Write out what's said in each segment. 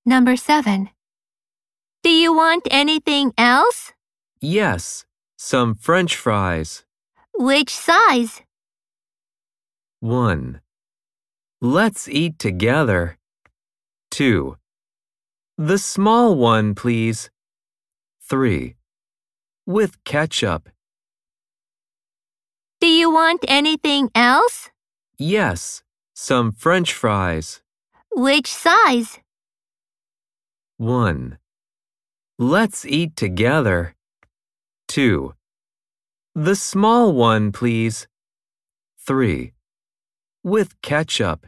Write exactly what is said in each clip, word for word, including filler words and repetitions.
Number seven. Do you want anything else? Yes, some French fries. Which size? one. Let's eat together. two. The small one, please. three. With ketchup. Do you want anything else? Yes, some French fries. Which size? one. Let's eat together. two. The small one, please. three. With ketchup.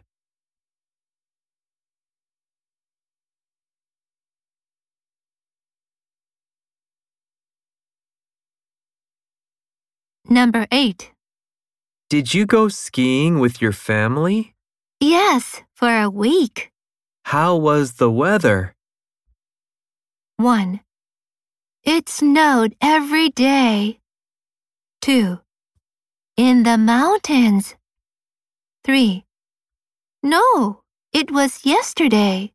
Number eight. Did you go skiing with your family? Yes, for a week. How was the weather? one. It snowed every day. two. In the mountains. three. No, it was yesterday.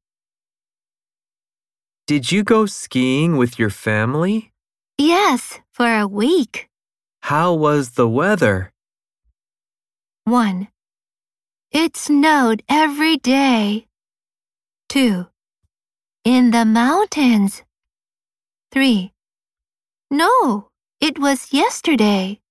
Did you go skiing with your family? Yes, for a week. How was the weather? one. It snowed every day. two. In the mountains. three. No, it was yesterday.